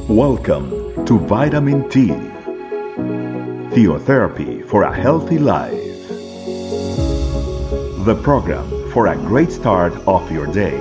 Welcome to Vitamin T, Theotherapy for a Healthy Life, the program for a great start of your day.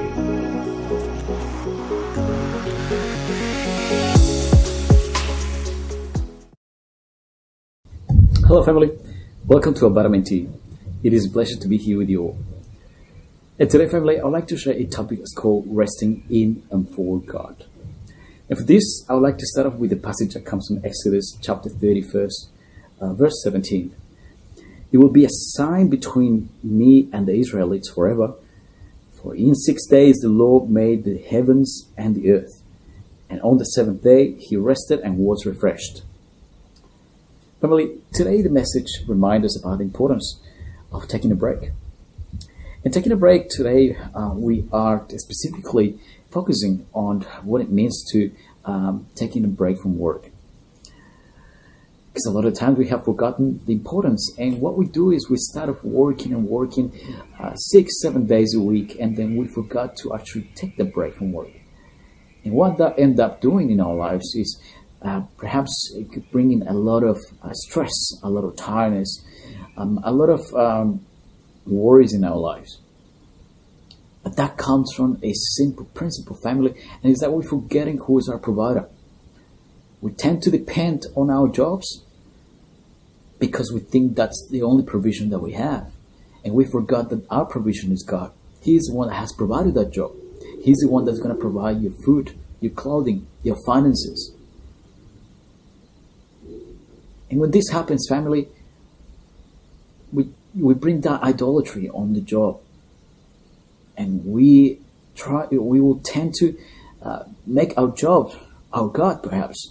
Hello family, welcome to Vitamin T. It is a pleasure to be here with you all. And today family, I would like to share a topic that's called resting in and for God. And for this, I would like to start off with a passage that comes from Exodus chapter 31, verse 17. It will be a sign between me and the Israelites forever. For in 6 days the Lord made the heavens and the earth. And on the seventh day he rested and was refreshed. Family, today the message reminds us about the importance of taking a break. And taking a break today, we are specifically focusing on what it means to taking a break from work. Because a lot of times we have forgotten the importance, and what we do is we start off working 6-7 days a week, and then we forgot to actually take the break from work. And what that ends up doing in our lives is perhaps it could bring in a lot of stress, a lot of tiredness, a lot of worries in our lives. But that comes from a simple principle, family, and it's that we're forgetting who is our provider. We tend to depend on our jobs because we think that's the only provision that we have. And we forgot that our provision is God. He is the one that has provided that job. He's the one that's going to provide your food, your clothing, your finances. And when this happens, family, we bring that idolatry on the job. And we will tend to make our job our God, perhaps.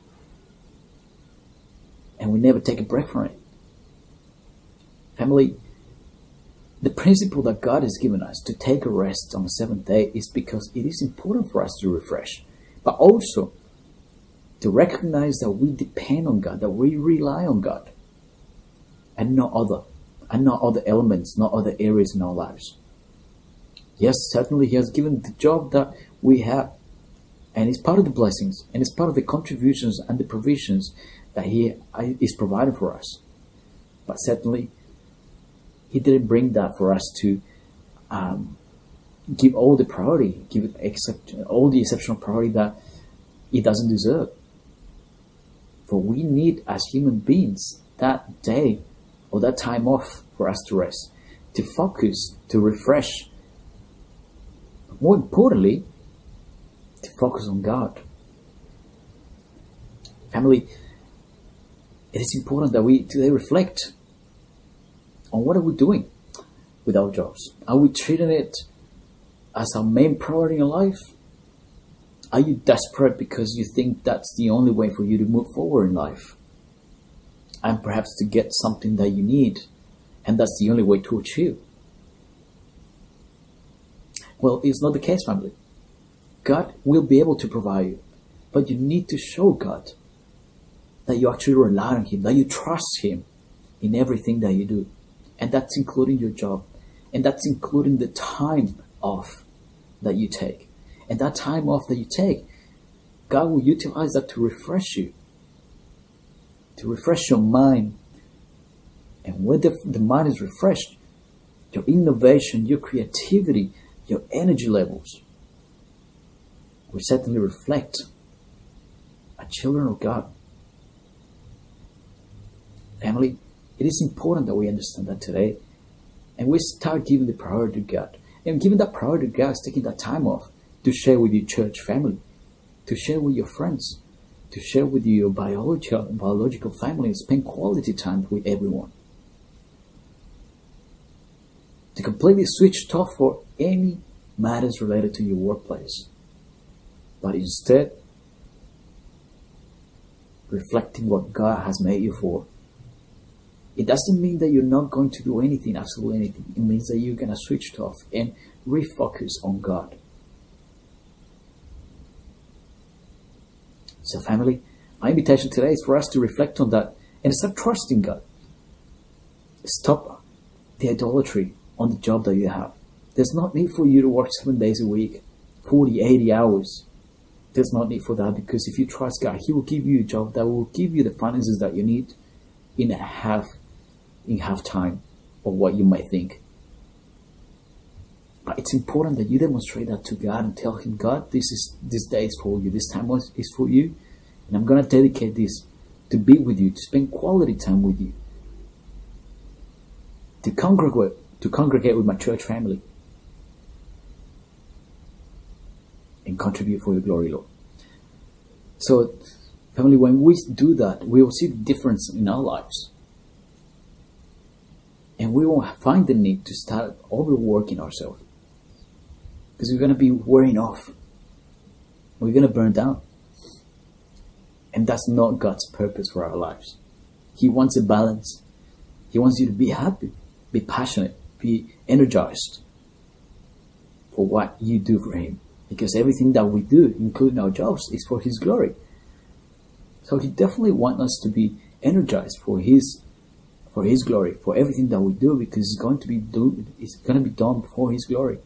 And we never take a break from it. Family, the principle that God has given us to take a rest on the seventh day is because it is important for us to refresh, but also to recognize that we depend on God, that we rely on God, and not other elements, not other areas in our lives. Yes, certainly He has given the job that we have, and it's part of the blessings, and it's part of the contributions and the provisions that He is providing for us. But certainly, He didn't bring that for us to give all the priority, all the exceptional priority that it doesn't deserve. For we need, as human beings, that day or that time off for us to rest, to focus, to refresh. More importantly, to focus on God. Family, it is important that we today reflect on what are we doing with our jobs. Are we treating it as our main priority in life? Are you desperate because you think that's the only way for you to move forward in life? And perhaps to get something that you need, and that's the only way to achieve? Well, it's not the case, family. God will be able to provide you, but you need to show God that you actually rely on Him, that you trust Him in everything that you do. And that's including your job. And that's including the time off that you take. And that time off that you take, God will utilize that to refresh you, to refresh your mind. And when the mind is refreshed, your innovation, your creativity, your energy levels will certainly reflect as children of God. Family, it is important that we understand that today, and we start giving the priority to God. And giving that priority to God is taking that time off to share with your church family, to share with your friends, to share with your biological family, and spend quality time with everyone. To completely switch off for any matters related to your workplace, but instead reflecting what God has made you for. It doesn't mean that you're not going to do anything, absolutely anything. It means that you're going to switch it off and refocus on God. So family, my invitation today is for us to reflect on that and start trusting God. Stop the idolatry on the job that you have. There's no need for you to work 7 days a week, 40, 80 hours, There's no need for that, because if you trust God, He will give you a job that will give you the finances that you need in half time of what you might think. But it's important that you demonstrate that to God and tell Him, God, this day is for you, this time is for you, and I'm going to dedicate this to be with you, to spend quality time with you, to congregate with my church family, and contribute for your glory, Lord. So, family, when we do that, we will see the difference in our lives. And we won't find the need to start overworking ourselves. Because we're going to be wearing off. We're going to burn down. And that's not God's purpose for our lives. He wants a balance. He wants you to be happy, be passionate, be energized for what you do for Him. Because everything that we do, including our jobs, is for His glory. So He definitely wants us to be energized for His glory, for everything that we do, because it's going to be done for His glory.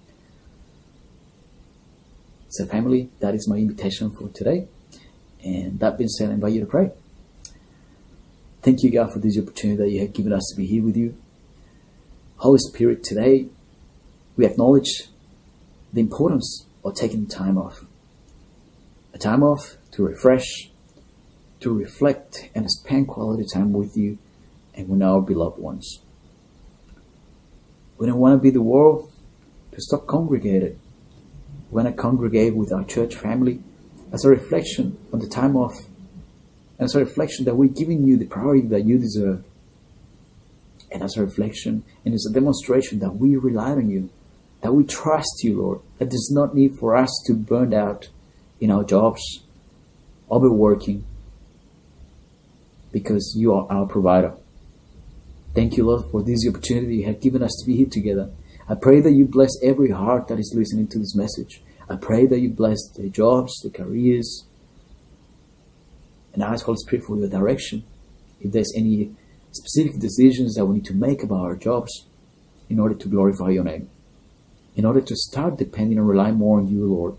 So family, that is my invitation for today. And that being said, I invite you to pray. Thank you, God, for this opportunity that you have given us to be here with you. Holy Spirit, today we acknowledge the importance of taking time off. A time off to refresh, to reflect, and spend quality time with you and with our beloved ones. We don't want to be the world to stop congregated. We want to congregate with our church family as a reflection on the time off, and as a reflection that we're giving you the priority that you deserve, and as a reflection and as a demonstration that we rely on you, that we trust you, Lord, that there's not need for us to burn out in our jobs, overworking, because you are our provider. Thank you, Lord, for this opportunity you have given us to be here together. I pray that you bless every heart that is listening to this message. I pray that you bless their jobs, their careers, and I ask Holy Spirit for your direction. If there's any specific decisions that we need to make about our jobs in order to glorify your name, in order to start depending and relying more on you, Lord.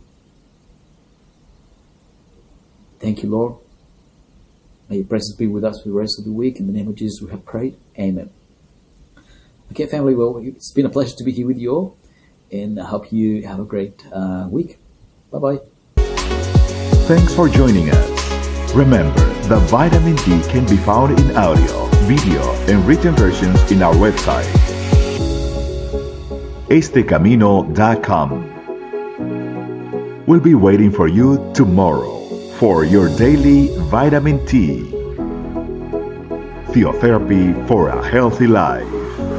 Thank you, Lord. May your presence be with us for the rest of the week. In the name of Jesus we have prayed. Amen. Okay, family, well, it's been a pleasure to be here with you all, and I hope you have a great week. Bye-bye. Thanks for joining us. Remember that Vitamin T can be found in audio, video, and written versions in our website, estecamino.com. We'll be waiting for you tomorrow for your daily Vitamin T. Theotherapy for a healthy life.